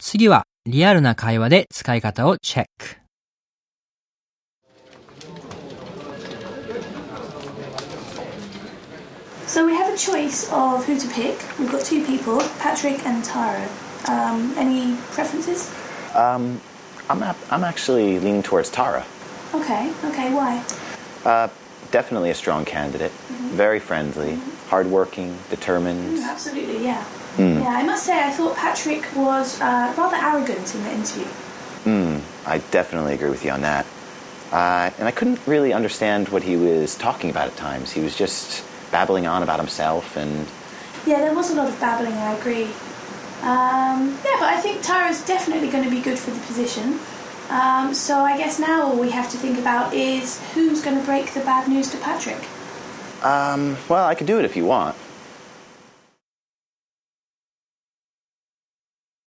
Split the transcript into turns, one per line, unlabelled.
次はリアルな会話で使い方をチェック。
So we have a choice of who to pick. We've got two people, Patrick and Tara. Any preferences?
I'm actually leaning towards Tara.
Okay, why?
Definitely a strong candidate. Very friendly, hardworking, determined.
Absolutely, yeah. Yeah, I must say I thought Patrick was rather arrogant in the interview.
I definitely agree with you on that. And I couldn't really understand what he was talking about at times. He was just babbling on about himself and...
Yeah, there was a lot of babbling, I agree. Yeah, but I think Tara's definitely going to be good for the position. So I guess now all we have to think about is who's going to break the bad news to Patrick.
Well, I could do it if you want.